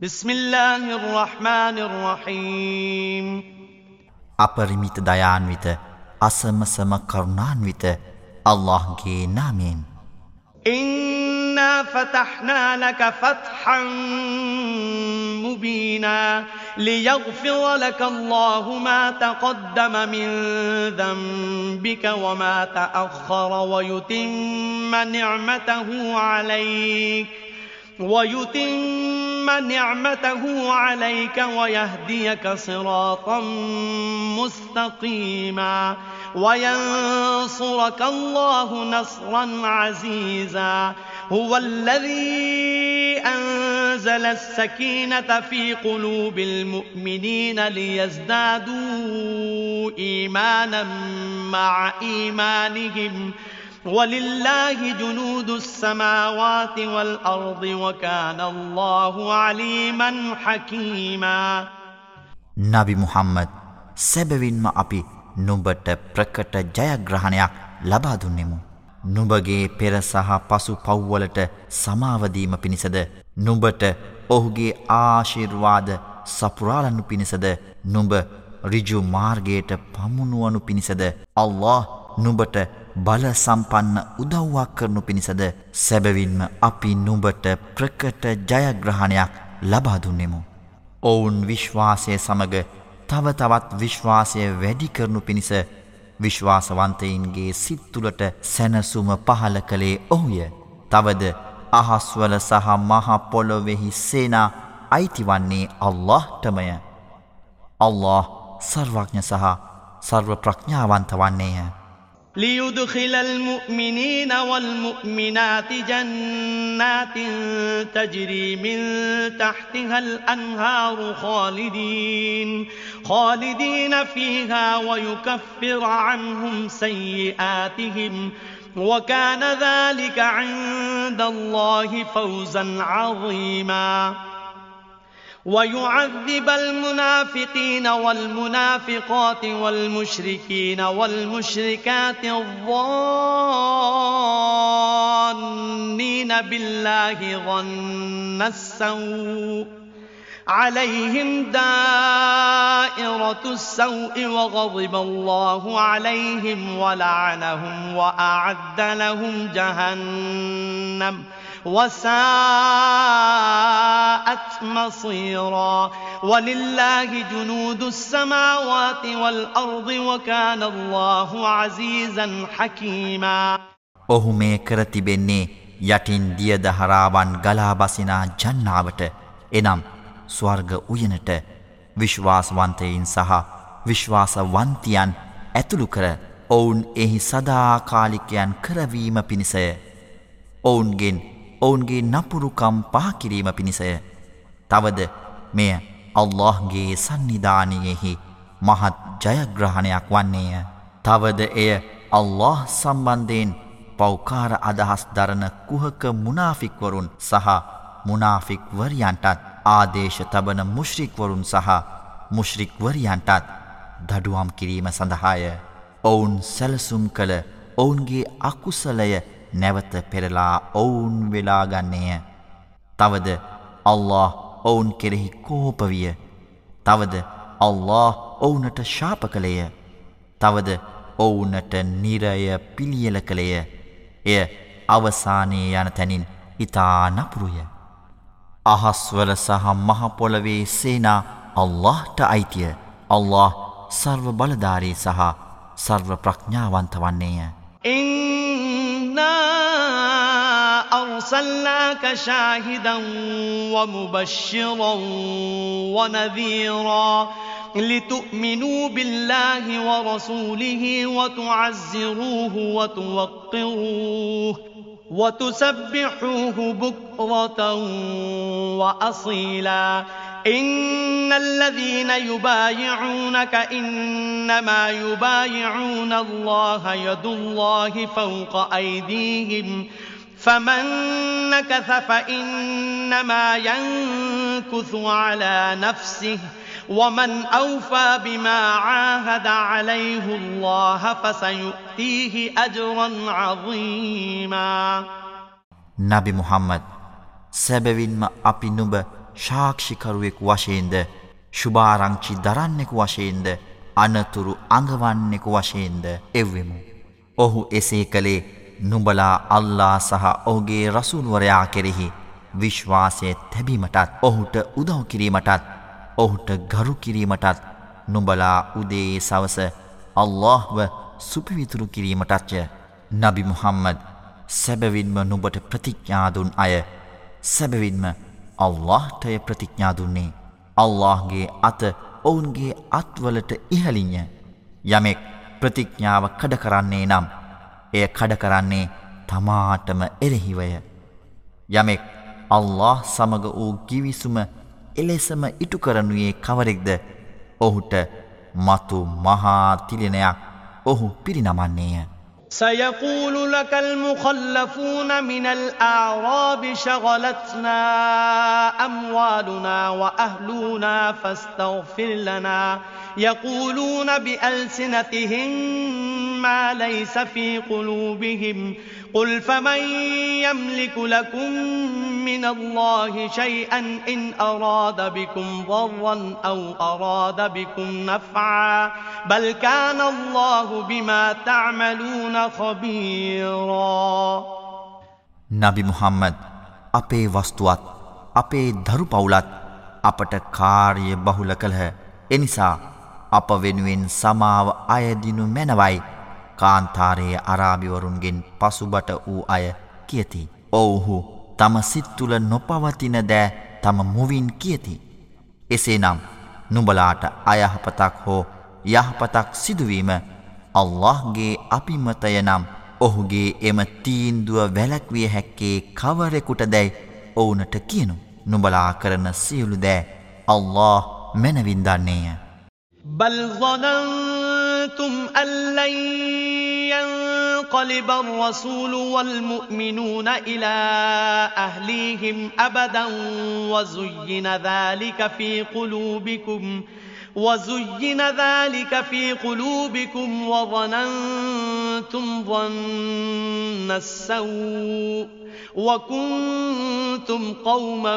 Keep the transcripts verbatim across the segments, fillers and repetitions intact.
بسم الله الرحمن الرحيم අපරිමිත දයාන්විත අසමසම කරුණාන්විත අල්ලාහ්ගේ නාමයෙන් إنا فتحنا لك فتحا مبينا ليغفر لك الله ما تقدم من ذنبك وما تأخر ويتم نعمته عليك ويتم نعمته عليك ويهديك صراطا مستقيما وينصرك الله نصرا عزيزا هو الذي أنزل السكينة في قلوب المؤمنين ليزدادوا إيمانا مع إيمانهم ولله جنود السماوات والأرض وكان الله عليما حكيما නබි මුහම්මද් සැබවින්ම අපි නුඹට ප්‍රකට ජයග්‍රහණයක් ලබා දුන්නෙමු. නුඹගේ පෙර සහ පසු පව්වලට සමාව දීම පිණිසද නුඹට ඔහුගේ ආශිර්වාද සපුරාලනු පිණිසද නුඹ ඍජු මාර්ගයට පමුණුවනු පිණිසද අල්ලාහ් නුඹට බල සම්පන්න උදව්වක් කරනු පිණිසද සැබවින්ම අපි නුඹට ප්‍රකට ජයග්‍රහණයක් ලබා දුන්නෙමු. ඔවුන් විශ්වාසය සමග තව තවත් විශ්වාසය වැඩි කරනු පිණිස විශ්වාසවන්තයින්ගේ සිත් තුළට සැනසුම පහළ කළේ ඔහුය. තවද අහස්වල සහ මහ පොළොවෙහි සේනා අයිති වන්නේ අල්ලාහ්ටමය. අල්ලාහ් සර්වඥ සහ සර්ව ප්‍රඥාවන්ත වන්නේය. ليدخل المؤمنين والمؤمنات جنات تجري من تحتها الأنهار خالدين خالدين فيها ويكفر عنهم سيئاتهم وكان ذلك عند الله فوزا عظيما ويعذب المنافقين والمنافقات والمشركين والمشركات الظانين بالله ظن السوء عليهم دائرة السوء وغضب الله عليهم ولعنهم وأعد لهم جهنم وساءت مصيرا ولله جنود السماوات والأرض وكان الله عزيزا حكيما ඔහු මේ කර තිබෙන්නේ යටින් දිය දහරාවන් ගලා බසිනා ජන්නාවට එනම් ස්වර්ග උයනට විශ්වාසවන්තයින් සහ විශ්වාසවන්තියන් ඇතුළු කර ඔවුන් එහි සදාකාලිකයන් කරවීම පිණිසය. ඔවුන්ගෙන් ඔවුන්ගේ නපුරුකම් පහ කිරීම පිණිසය. තවද මෙය අල්ලාහ්ගේ සන්නිධානයෙහි මහත් ජයග්‍රහණයක් වන්නේය. තවද එය අල්ලාහ් සම්බන්ධයෙන් පෞකාර අදහස් දරන කුහක මුනාෆික්වරුන් සහ මුනාෆික්වරියන්ටත් ආදේශ තබන මුශ්රික්වරුන් සහ මුශ්රික්වරියන්ටත් දඩුවම් කිරීම සඳහාය. ඔවුන් සැලසුම් කළ ඔවුන්ගේ අකුසලය නැවත පෙරලා ඔවුන් වෙලාගන්නේය. තවද අල්ලාහ් ඔවුන් කෙරෙහි කෝපවිය. තවද අල්ලාහ් ඔවුනට ශාප කළේය. තවද ඔවුනට නිරය පිළියෙල කළේය. එය අවසානයේ යන තැනින් ඉතා නපුරුය. අහස්වල සහ මහ පොළවේ සේනා අල්ලාහ්ට අයිතිය. අල්ලාහ් සර්ව බලධාරී සහ සර්ව ප්‍රඥාවන්ත වන්නේය. أرسلناك شاهدا ومبشرا ونذيرا لتؤمنوا بالله ورسوله وتعزروه وتوقروه وتسبحوه بكرة وأصيلا إن الذين يبايعونك إنما يبايعون الله يد الله فوق أيديهم فمن نكث فإنما ينكث على نفسه ومن أوفى بما عاهد عليه الله فسيؤتيه أجرا عظيما නබි මුහම්මද් සැබවින්ම අපි නුඹ සාක්ෂිකරුවෙකු වශයෙන්ද ශුභාරංචි දරන්නෙකු වශයෙන්ද අනතුරු අඟවන්නෙකු වශයෙන්ද එව්වෙමු. ඔහු එසේ කළේ නුඹලා අල්ලා සහ ඔහුගේ රසූල්වරයා කෙරෙහි විශ්වාසය තැබීමටත් ඔහුට උදව් කිරීමටත් ඔහුට ගරු කිරීමටත් නුඹලා උදේ සවස අල්ලාහ්ව සුපිවිතුරු කිරීමටත්ය. නබි මුහම්මද් සැබවින්ම නුඹට ප්‍රතිඥා දුන් අය සැබවින්ම අල්ලාහ්ටය ප්‍රතිඥා දුන්නේ. අල්ලාහ්ගේ අත ඔවුන්ගේ අත්වලට ඉහළින්ය. යමෙක් ප්‍රතිඥාව කඩ කරන්නේ නම් එය කඩ කරන්නේ තමාටම එරෙහිවය. යමෙක් අල්ලාහ් සමග වූ කිවිසුම එලෙසම ඉටු කරනුයේ කවරෙක්ද ඔහුට මතු මහා තිලිනයක් ඔහු පිරිනමන්නේය. سيقول لك المخلفون من الأعراب شغلتنا أموالنا وأهلنا فاستغفر لنا يقولون بألسنتهم ما ليس في قلوبهم قل فمن يملك لكم من الله شيئا إن أراد بكم ضرا أو أراد بكم نفعا بل كان الله بما تعملون خبيرا. නබි මුහම්මද් අපේ වස්තුවත් අපේ දරු පවුලත් අපට කාර්ය බහුල කළහ. එනිසා අප වෙනුවෙන් සමාව අයදිනු මැනවයි කාන්තාරයේ අරාබිවරුන්ගෙන් පසුබට වූ අය කියති. ඔවුහු තම සිත් තුළ නොපවතින දෑ තම මුවින් කියති. එසේනම් නුඹලාට අයහපතක් හෝ යහපතක් සිදුවීම අල්ලාහ්ගේ අපිමතය නම් ඔහුගේ එම තීන්දුව වැළැක්විය හැක්කේ කවරෙකුට දැයි ඔවුනට කියනු. නුඹලා කරන සියලු දෑ අල්ලාහ් මැනවින් දන්නේය. بل ظننتم أن لن ينقلب الرسول والمؤمنون إلى أهليهم أبدا وزين ذلك في قلوبكم وزين ذلك في قلوبكم وظننتم ظن السوء وكنتم قوما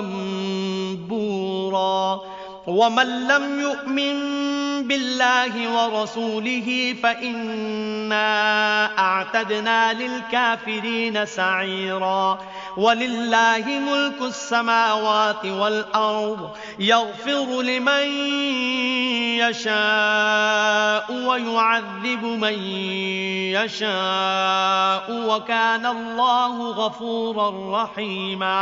بورا. ومن لم يؤمن بالله ورسوله فإنا أعتدنا للكافرين سعيرا. ولله ملك السماوات والأرض يغفر لمن يشاء ويعذب من يشاء وكان الله غفورا رحيما.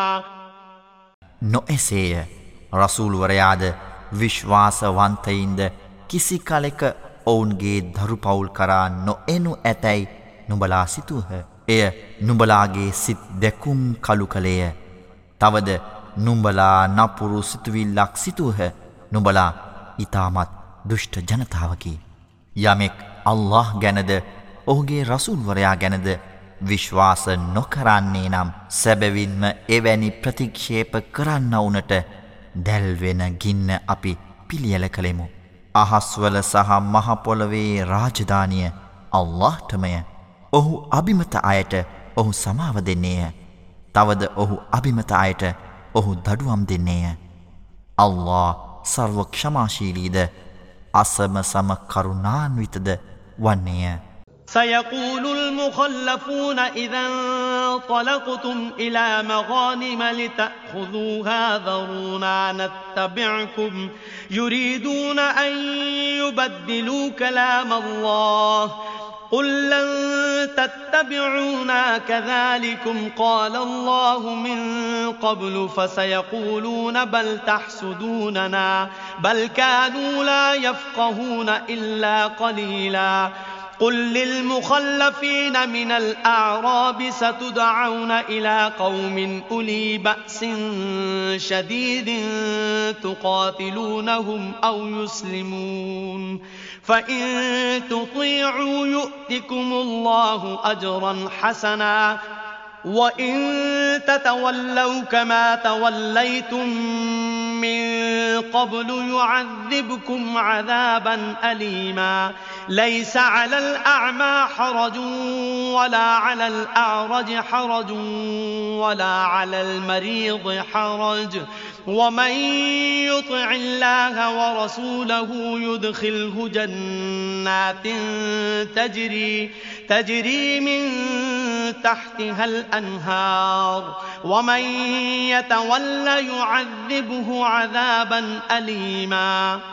නොඑසේය. රසූල්වරයාද විශ්වාසවන්තයින්ද කිසි කලෙක ඔවුන්ගේ දරු පවුල් කරා නොඑනු ඇතැයි නුඹලා සිතුහ. එය නුඹලාගේ සිත් දැකුම් කළු කළේය. තවද නුඹලා නපුරු සිතුවිල්ලක් සිතුහ. නුඹලා ඉතාමත් දුෂ්ට ජනතාවකි. යමෙක් අල්ලාහ් ගැනද ඔහුගේ රසූල්වරයා ගැනද විශ්වාස නොකරන්නේ නම් සැබවින්ම එවැනි ප්‍රතික්ෂේප කරන්නවුනට දැල්වෙන ගින්න අපි පිළියෙල කළෙමු. අහස්වල සහ මහපොළොවේ රාජධානිය අල්ලාහ්ටමය. ඔහු අබිමත අයට ඔහු සමාව දෙන්නේය. තවද ඔහු අබිමත අයට ඔහු දඩුවම් දෙන්නේය. අල්ලාහ් සර්ව ක්ෂමාශීලීද අසම සම කරුණාන්විතද වන්නේය. سيقول المخلفون إذا انطلقتم إلى مغانم لتأخذوها ذرونا نتبعكم يريدون أن يبدلوا كلام الله قل لن تتبعونا كذلكم قال الله من قبل فسيقولون بل تحسدوننا بل كانوا لا يفقهون إلا قليلا. قل للمخلفين من الأعراب ستدعون إلى قوم أولي بأس شديد تقاتلونهم أو يسلمون فإن تطيعوا يؤتكم الله أجرا حسنا وإن تتولوا كما توليتم من قبل يعذبكم عذابا أليما. ليس على الأعمى حرج ولا على الأعرج حرج ولا على المريض حرج ومن يطع الله ورسوله يدخله جنات تجري تجري من تحتها الأنهار ومن يتول يعذبه عذابا أليما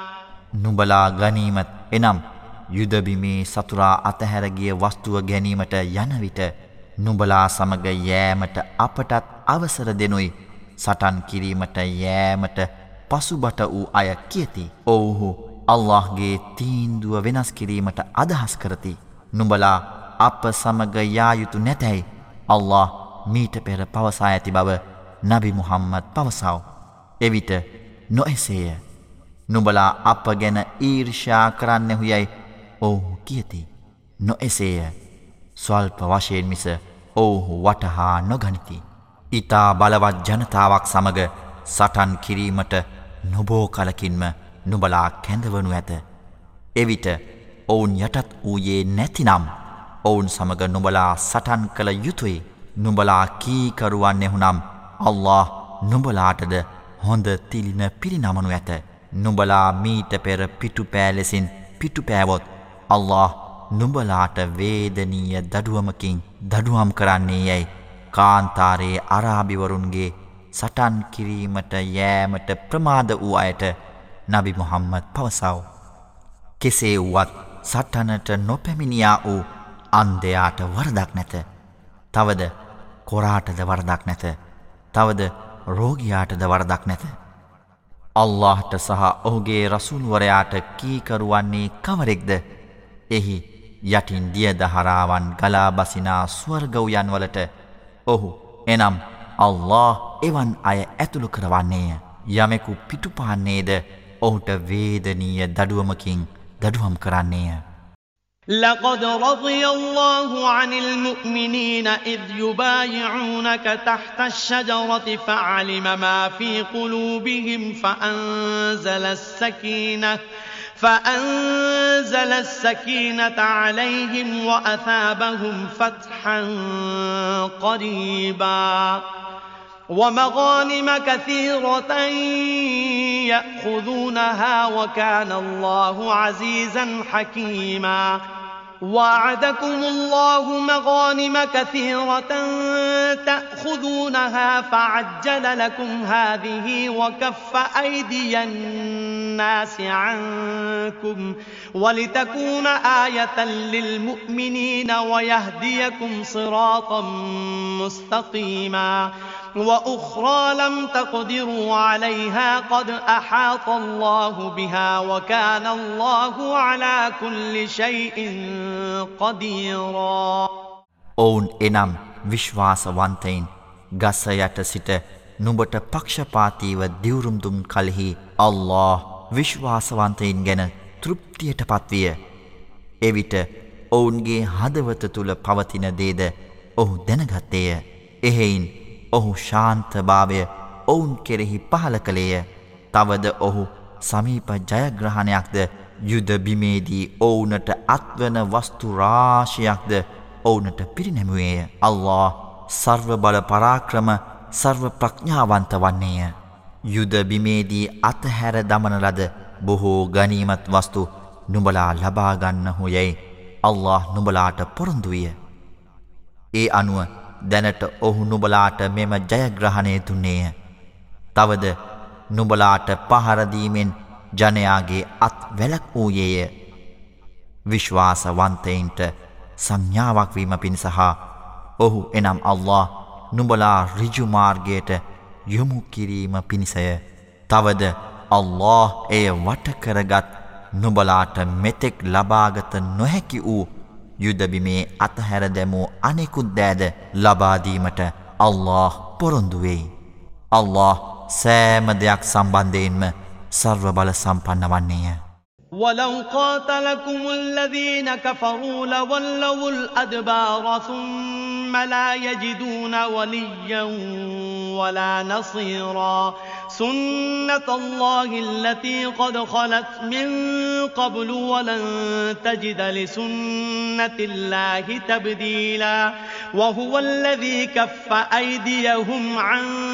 නුඹලා ගනීමත් එනම් යුද බිමේ සතුරා අතහැර ගිය වස්තුව ගැනීමට යන විට නුඹලා සමග යෑමට අපටත් අවසර දෙනුයි. සටන් කිරීමට යෑමට පසුබට වූ අය කියති. ඔව්හු අල්ලාහ්ගේ තීන්දුව වෙනස් කිරීමට අදහස් කරති. නුඹලා අප සමග යා යුතු නැතැයි අල්ලාහ් මීට පෙර පවසා ඇති බව නබි මුහම්මද් පවසව. එවිට නොඑසේය. නුඹලා අප ගැන ඊර්ෂ්‍යා කරන්නෙහු යයි ඔව්හු කියති. නොඑසේය. ස්වල්ප වශයෙන් මිස ඔව්හු වටහා නොගනිති. ඉතා බලවත් ජනතාවක් සමග සටන් කිරීමට නොබෝ කලකින්ම නුඹලා කැඳවනු ඇත. එවිට ඔවුන් යටත් වූයේ නැතිනම් ඔවුන් සමග නුඹලා සටන් කළ යුතුයි. නුඹලා කීකරුවන්නෙහුනම් අල්ලාහ් නුඹලාටද හොඳ තිලින පිරිනමනු ඇත. නුඹලා මීට පෙර පිටුපෑ ලෙසින් පිටුපෑවොත් අල්ලාහ් නුඹලාට වේදනීය දඩුවමකින් දඩුවම් කරන්නේ යැයි කාන්තාරයේ අරාබිවරුන්ගේ සටන් කිරීමට යෑමට ප්‍රමාද වූ අයට නබි මුහම්මද් පවසව. කෙසේ වුවත් සටනට නොපැමිණියා වූ අන්ධයාට වරදක් නැත. තවද කොරාටද වරදක් නැත. තවද රෝගියාටද වරදක් නැත. අල්ලාහ්ට සහ ඔහුගේ රසූල්වරයාට කීකරුවන්නේ කවරෙක්ද? එහි යටින් දිය දහරාවන් ගලා බසිනා ස්වර්ග උයන් වලට ඔහු එනම් අල්ලාහ් එවන් අය ඇතුළු කරවන්නේය. යමෙකු පිටුපාන්නේද ඔහුට වේදනීය දඩුවමකින් දඩුවම් කරන්නේය. لقد رضي الله عن المؤمنين إذ يبايعونك تحت الشجرة فعلم ما في قلوبهم فأنزل السكينة فأنزل السكينة عليهم وأثابهم فتحا قريبا ومغانم كثيرة يأخذونها وكان الله عزيزا حكيما وعدكم الله مغانم كثيرة تأخذونها فعجل لكم هذه وكف أيدي الناس عنكم ولتكون آية للمؤمنين ويهديكم صراطا مستقيما وأخرى لم تقدروا عليها قد أحاط الله بها وكان الله على كل شيء قديرا ඔවුන් එනම් විශ්වාසවන්තයින් ගස යට සිට නුඹට පක්ෂපාතීව දිවුරුම් දුන් කලෙහි අල්ලාහ් විශ්වාසවන්තයින් ගැන තෘප්තියට පත්විය. එවිට ඔවුන්ගේ හදවත තුල පවතින දේද ඔහු දැනගත්තේය. එහෙයින් ඔහු ශාන්තභාවය ඔවුන් කෙරෙහි පහල කළේය. තවද ඔහු සමීප ජයග්‍රහණයක්ද යුද බිමේදී ඔවුනට අත්වන වස්තු රාශියක්ද ඔවුනට පිරිනැමුවේය. අල්ලාහ් සර්ව බල පරාක්‍රම සර්ව ප්‍රඥාවන්ත වන්නේය. යුද බිමේදී අතහැර දමන ලද බොහෝ ගනීමත් වස්තු නුඹලා ලබා ගන්නහු යැයි අල්ලාහ් නුඹලාට පොරොන්දු විය. ඒ අනුව දැනට ඔහු නුඹලාට මෙම ජයග්‍රහණය දුන්නේය. තවද නුඹලාට පහරදීමෙන් ජනයාගේ අත් වැලක් වූයේය. විශ්වාසවන්තයින්ට සංඥාවක් වීම පිණිස හා ඔහු එනම් අල්ලාහ් නුඹලා ඍජු මාර්ගයට යොමු කිරීම පිණිසය. තවද අල්ලාහ් එය වට කරගත් නුඹලාට මෙතෙක් ලබාගත නොහැකි වූ යුද බිමේ අතහැර දැමූ අනෙකුත් දෑද ලබා දීමට අල්ලාහ් පොරොන්දු වෙයි. අල්ලාහ් සෑම දෙයක් සම්බන්ධයෙන්ම සර්ව බල සම්පන්න වන්නේය. ولو قاتلكم الذين كفروا لولوا الأدبار ثم لا يجدون وليا ولا نصيرا سنة الله التي قد خلت من قبل ولن تجد لسنة الله تبديلا وهو الذي كف أيديهم عنكم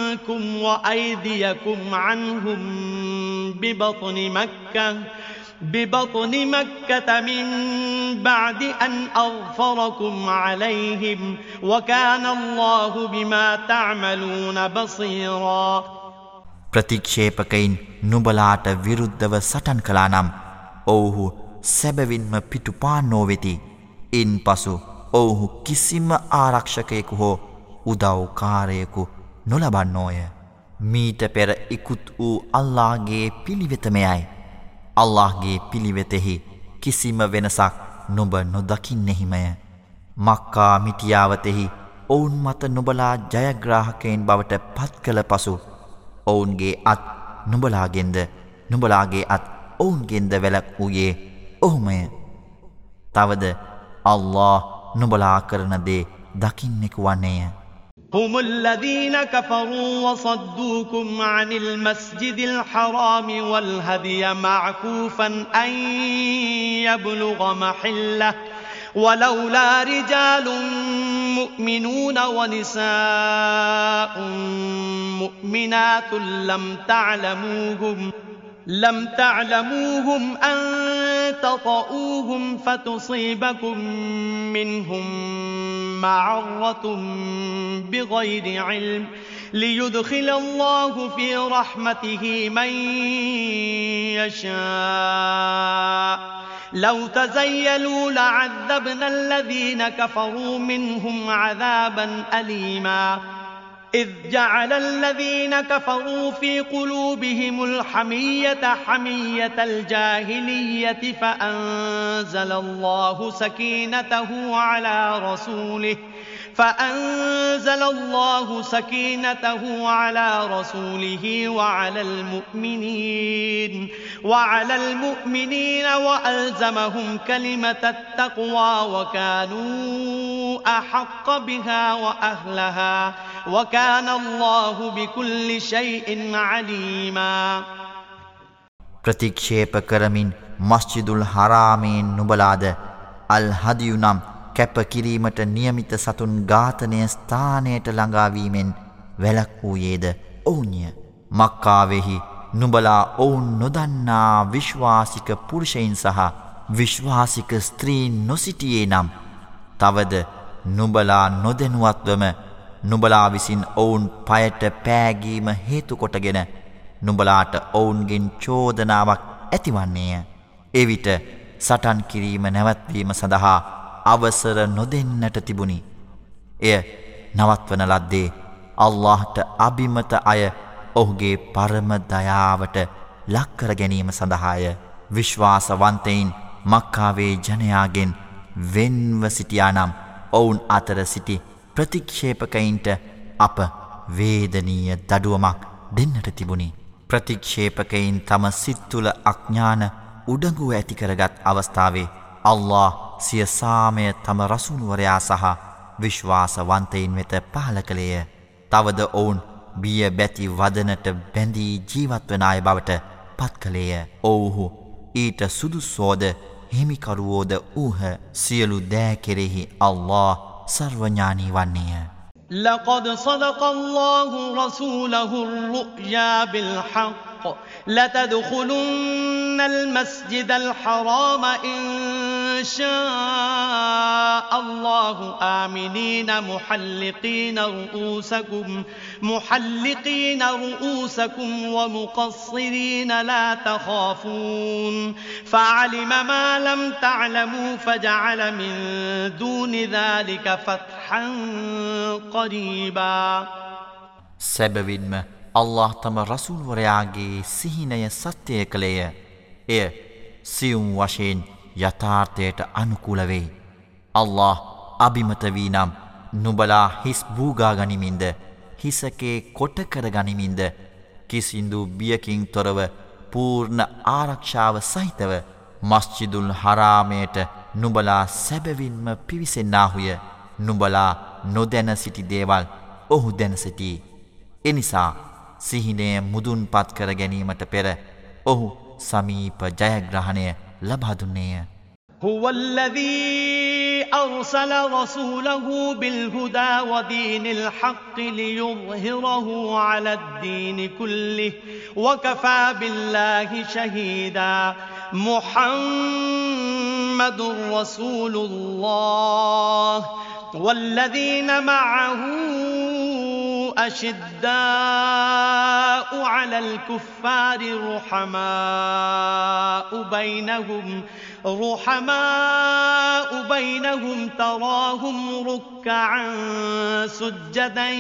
عنكم وأيديكم عنهم ببطن مكة ببطن مكة من بعد أن أغفركم عليهم وكان الله بما تعملون بصيرا. ප්‍රතික්ෂේපකයින් නුඹලාට විරුද්ධව සටන් කළා නම් ඔවුහු සැබවින්ම පිටුපාන්නෝ වෙති. ඉන්පසු ඔවුහු කිසිම ආරක්ෂකයෙකු හෝ උදව්කාරයෙකු නොලබන්නෝය. මීට පෙර ඉකුත් වූ අල්ලාහ්ගේ පිළිවෙතමයයි. අල්ලාහ්ගේ පිළිවෙතෙහි කිසිම වෙනසක් නුඹ නොදකින්නෙහිමය. මක්කා මිටියාවතෙහි ඔවුන් මත නුඹලා ජයග්‍රාහකයින් බවට පත් කළ පසු ඔවුන්ගේ අත් නුඹලාගෙන්ද නුඹලාගේ අත් ඔවුන්ගෙන්ද වැළක් වූයේ ඔහුමය. තවද අල්ලාහ් නුඹලා කරන දේ දකින්නෙකු වන්නේය. هم الذين كفروا وصدوكم عن المسجد الحرام والهدي معكوفا أن يبلغ محله ولولا رجال مؤمنون ونساء مؤمنات لم تعلموهم لم تعلموهم أن تطؤوهم فتصيبكم منهم معرة بغير علم ليدخل الله في رحمته من يشاء لو تزيلوا لعذبنا الذين كفروا منهم عذابا أليما إذ جعل الذين كفروا في قلوبهم الحمية حمية الجاهلية فأنزل الله سكينته على رسوله فأنزل الله سكينته على رسوله وعلى المؤمنين وعلى المؤمنين وألزمهم كلمة التقوى وكانوا أحق بها وأهلها وكان الله بكل شيء عليما. ප්‍රතික්ෂේප කරමින් මස්ජිදුල් හරාමෙන් නුඹලාද අල් හදියු නම් කැප කිරීමට නියමිත සතුන් ඝාතනය ස්ථානයට ළඟාවීමෙන් වැළක් වූයේද ඔවුන්ය. මක්කාවෙහි නුඹලා ඔවුන් නොදන්නා විශ්වාසික පුරුෂයින් සහ විශ්වාසික ස්ත්‍රීන් නොසිටියේ නම් තවද නුඹලා නොදැනුවත්වම නුඹලා විසින් ඔවුන් පයට පෑගීම හේතු කොටගෙන නුඹලාට ඔවුන්ගෙන් චෝදනාවක් ඇතිවන්නේය. එවිට සටන් කිරීම නැවැත්වීම සඳහා අවසර නොදෙන්නට තිබුණි. එය නවත්වන ලද්දේ අල්ලාහ්ට අබිමත අය ඔහුගේ පරම දයාවට ලක්කර ගැනීම සඳහාය. විශ්වාසවන්තයින් මක්කාවේ ජනයාගෙන් වෙන්ව සිටියා නම් ඔවුන් අතර සිටි ප්‍රතික්ෂේපකයින්ට අප වේදනීය දඩුවමක් දෙන්නට තිබුණි. ප්‍රතික්ෂේපකයින් තම සිත් තුළ අඥාන උඩඟුව ඇති කරගත් අවස්ථාවේ අල්ලාහ් සිය සාමය තම රසූල්වරයා සහ විශ්වාසවන්තයින් වෙත පහල කළේය. තවද ඔවුන් බිය බැති වදනට බැඳී ජීවත්වන අය බවට පත් කළේය. ඔවුහු ඊට සුදුස්සෝද හිමිකරුවෝද ඌහ. සියලු දෑ කෙරෙහි අල්ලාහ් සර්වඥානී වන්නේය. لقد صدق الله رسوله الرؤيا بالحق لتدخلن المسجد الحرام إن شاء الله آمنين محلقين رؤوسكم محلقين رؤوسكم ومقصرين لا تخافون فعلم ما لم تعلموا فجعل من دون ذلك فتحا قريبا. සැබවින්ම අල්ලාහ් තම රසූල්වරයාගේ සිහිනය සත්‍යය කළේය. එය සියුම් වශයෙන් යථාර්ථයට අනුකූල වේ. අල්ලාහ් අබිමත වී නම් නුඹලා හිස් බූගා ගනිමින්ද හිසකේ කොට කර ගනිමින්ද කිසිදු බියකින් තොරව පූර්ණ ආරක්ෂාව සහිතව මස්ජිදුල් හරාමයට නුඹලා සැබවින්ම පිවිසෙන්නාහුය. නුඹලා නොදැන සිටි දේවල් ඔහු දැන සිටී. එනිසා සිහිනය මුදුන්පත් කර ගැනීමට පෙර ඔහු සමීප ජයග්‍රහණය ලබා දුන්නේය. هو الذي أرسل رسوله بالهدى ودين الحق ليظهره على الدين كله وكفى بالله شهيدا محمد رسول الله والذين معه أشداء على الكفار رحماء بينهم رحماء بينهم تراهم ركعا سجدا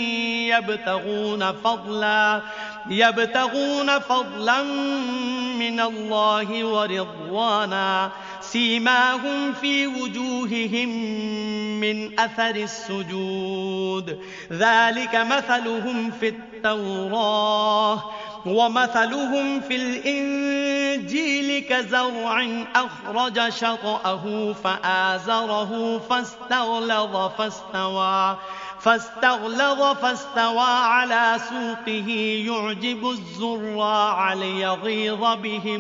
يبتغون فضلا يبتغون فضلا من الله ورضوانا سيماهم في وجوههم من أثر السجود ذلك مثلهم في التوراة ومثلهم في الإنجيل كزرع أخرج شطأه فآزره فاستغلظ فاستوى فاستغلظ فاستوى على سوقه يعجب الزراع ليغيظ بهم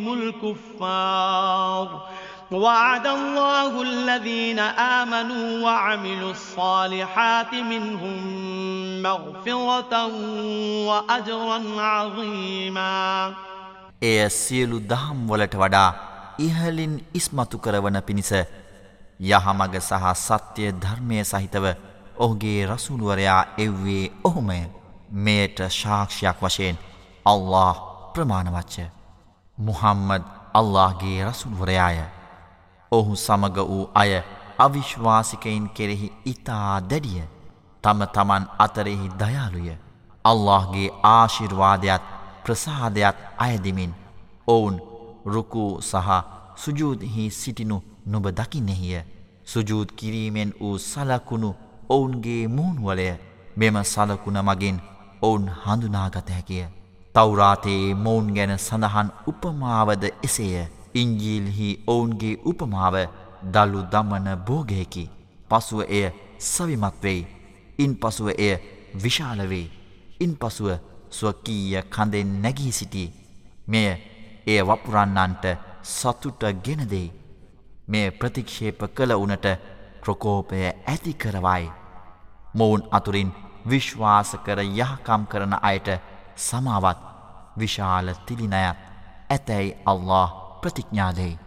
الكفار وعد الله الذين آمنوا وعملوا الصالحات منهم مغفرة وأجرا عظيما එය සියලු දහම් වලට වඩා ඉහළින් ඉස්මතු කරවන පිණිස යහමඟ සහ සත්‍ය ධර්මය සහිතව ඔහුගේ රසූල්වරයා එව්වේ ඔහුමය. මෙයට සාක්ෂියක් වශයෙන් අල්ලාහ් ප්‍රමාණවත්ය. මුහම්මද් අල්ලාහ්ගේ රසූල්වරයාය. ඔහු සමග වූ අය අවිශ්වාසිකයින් කෙරෙහි ඉතා දැඩිය. තම තමන් අතරෙහි දයාලුය. අල්ලාහ්ගේ ආශිර්වාදයත් ප්‍රසාදයත් අයදිමින් ඔවුන් රුකූ සහ සුජූද්හි සිටිනු නුඹ දකින්නෙහිය. සුජූද් කිරීමෙන් වූ සලකුණු ඔවුන්ගේ මූන්වලය. මෙම සලකුණ මගින් ඔවුන් හඳුනාගත හැකිය. තවුරාතයේ මොවුන් ගැන සඳහන් උපමාවද එසේය. ඉංජීල්හි ඔවුන්ගේ උපමාව දළු දමන බෝගයකි. පසුව එය සවිමත් වෙයි. ඉන් පසුව එය විශාල වෙයි. ඉන් පසුව ස්වකීය කඳෙන් නැගී සිටී. මෙය එය වපුරන්නන්ට සතුට ගෙන දෙයි. මෙය ප්‍රතික්ෂේප කළ උනට ප්‍රකෝපය ඇති කරවයි. මොවුන් අතුරින් විශ්වාස කර යහකම් කරන අයට සමාවත් විශාල තිලිනයත් ඇතැයි අල්ලාහ් प्रतिज्ञा देई।